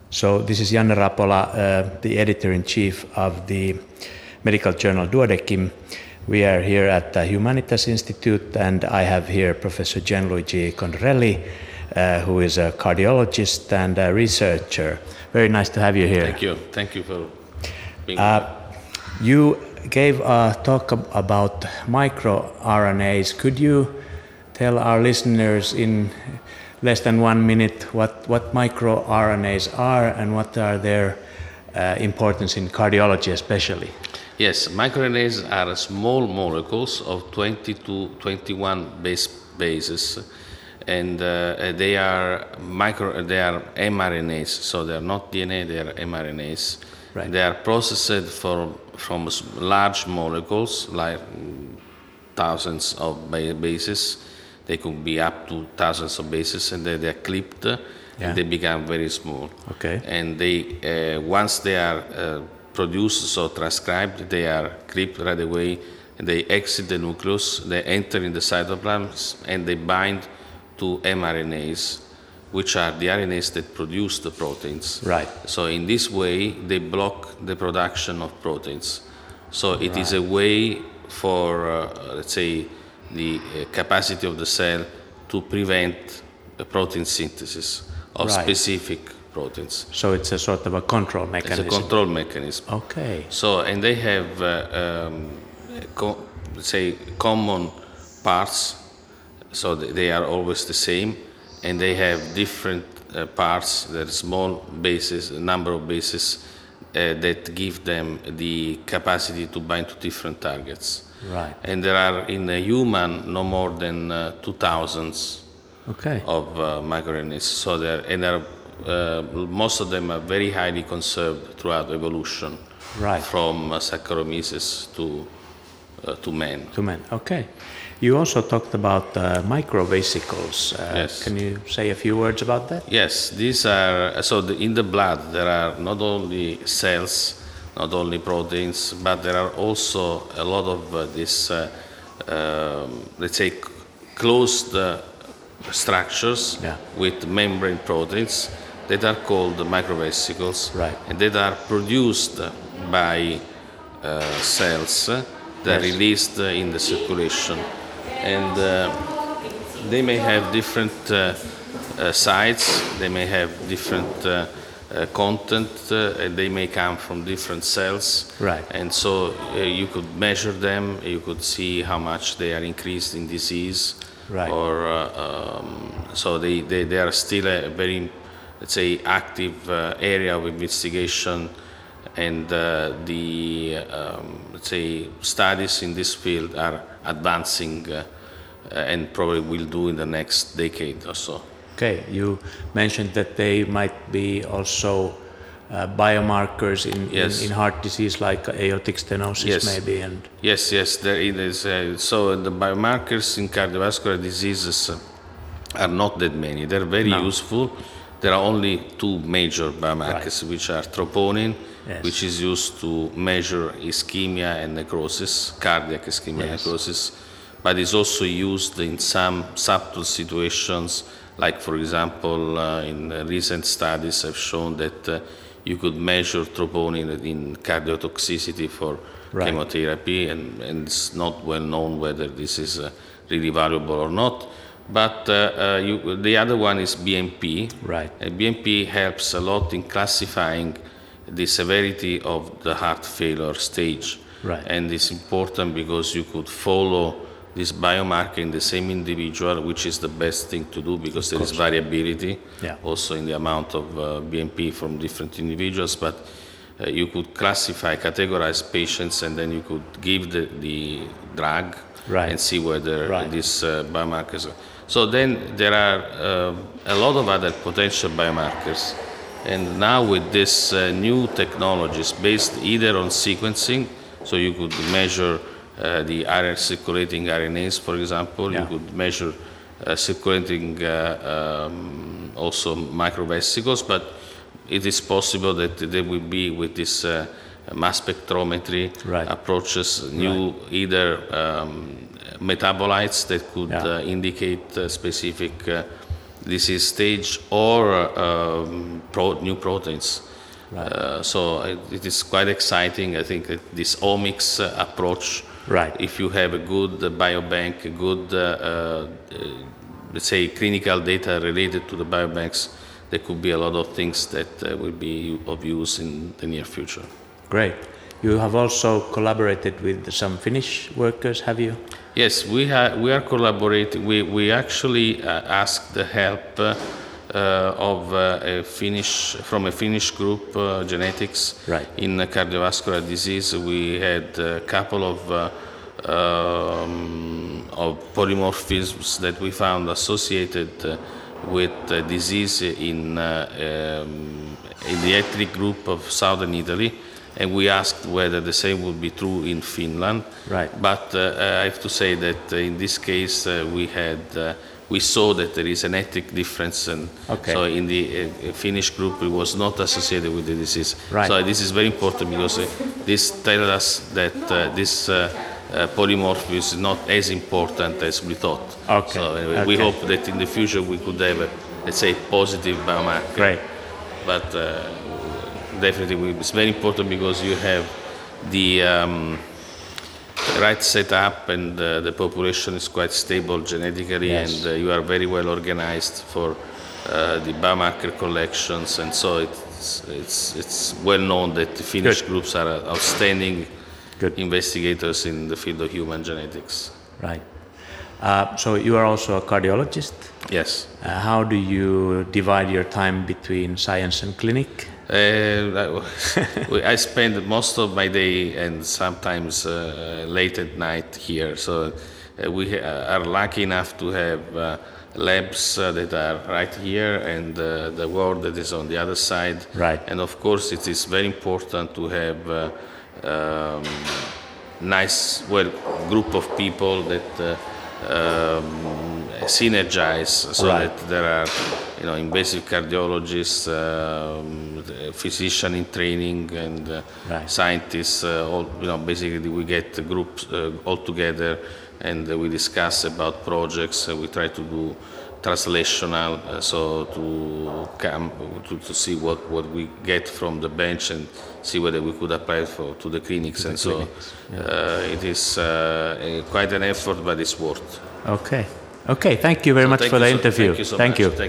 So this is Janne Rapola, the editor-in-chief of the medical journal Duodecim. We are here at the Humanitas Institute, and I have here Professor Gianluigi Condorelli, who is a cardiologist and a researcher. Very nice to have you here. Thank you. Thank you for being here. You gave a talk about microRNAs. Could you tell our listeners in less than 1 minute what microRNAs are and what are their importance in cardiology especially? Yes, microRNAs are small molecules of 20 to 21 bases, and they are mRNAs, so they are not DNA, they are mRNAs. Right. They are processed from large molecules, like thousands of bases. They could be up to thousands of bases, and they are clipped, and they become very small. Okay. And they, once they are produced, so transcribed, they are clipped right away, and they exit the nucleus, they enter in the cytoplasm, and they bind to mRNAs, which are the RNAs that produce the proteins. Right. So in this way, they block the production of proteins. So it is a way for, let's say, the capacity of the cell to prevent the protein synthesis of specific proteins. So it's a sort of a control mechanism. It's a control mechanism. Okay. So, and they have, let's say, common parts, so they are always the same, and they have different parts, there are small bases, a number of bases that give them the capacity to bind to different targets. Right. And there are in a human no more than 2,000 of microRNAs. So most of them are very highly conserved throughout evolution, from Saccharomyces to man. To man. Okay. You also talked about microvesicles. Yes. Can you say a few words about that? Yes, these are in the blood there are not only cells, not only proteins, but there are also a lot of these, let's say, closed structures with membrane proteins that are called microvesicles, and that are produced by cells that are released in the circulation. And they may have different sites, they may have different content, and they may come from different cells. Right. And so you could measure them, you could see how much they are increased in disease. Right. Or so they are still a very, let's say, active area of investigation, and let's say, studies in this field are advancing and probably will do in the next decade or so. Okay, you mentioned that they might be also biomarkers in heart disease, like aortic stenosis, maybe. And yes, there is. So the biomarkers in cardiovascular diseases are not that many. They're very useful. There are only two major biomarkers, which are troponin, which is used to measure ischemia and necrosis, cardiac ischemia and necrosis, but is also used in some subtle situations, like, for example, in recent studies have shown that you could measure troponin in cardiotoxicity for chemotherapy, and it's not well known whether this is really valuable or not. But the other one is BNP. Right. BNP helps a lot in classifying the severity of the heart failure stage. Right. And it's important because you could follow this biomarker in the same individual, which is the best thing to do because there is variability also in the amount of BNP from different individuals. But you could classify, categorize patients, and then you could give the drug and see whether these biomarkers are. So then there are a lot of other potential biomarkers. And now with these new technologies based either on sequencing, so you could measure the circulating RNAs, for example, you could measure circulating also microvesicles, but it is possible that they will be with this mass spectrometry approaches, new either metabolites that could indicate specific disease stage or new proteins. Right. So it is quite exciting. I think that this omics approach, right. If you have a good biobank, a good, let's say, clinical data related to the biobanks, there could be a lot of things that will be of use in the near future. Great. You have also collaborated with some Finnish workers, have you? Yes, we are collaborating. We actually asked the help of from a Finnish group, genetics, right. in cardiovascular disease. We had a couple of polymorphisms that we found associated with disease in the ethnic group of southern Italy, and we asked whether the same would be true in Finland. Right. But I have to say that in this case we saw that there is an ethnic difference, and so in the Finnish group it was not associated with the disease. Right. So this is very important because this tells us that this polymorphism is not as important as we thought. Okay. So anyway, we hope that in the future we could have let's say, positive biomarker. Great. But definitely it's very important because you have the right setup, and the population is quite stable genetically, yes. and you are very well organized for the biomarker collections, and so it's well known that the Finnish groups are outstanding investigators in the field of human genetics. Right. So you are also a cardiologist? Yes. How do you divide your time between science and clinic? I spend most of my day and sometimes late at night here. So we are lucky enough to have labs that are right here, and the ward that is on the other side. Right. And of course it is very important to have nice, group of people that synergize, so right. that there are, invasive cardiologists, physician in training, and right. scientists. Basically we get groups all together, and we discuss about projects. We try to do translational, so to see what we get from the bench and see whether we could apply to the clinics. It is quite an effort, but it's worth. Okay. Thank you very much for the interview. Thank you so much.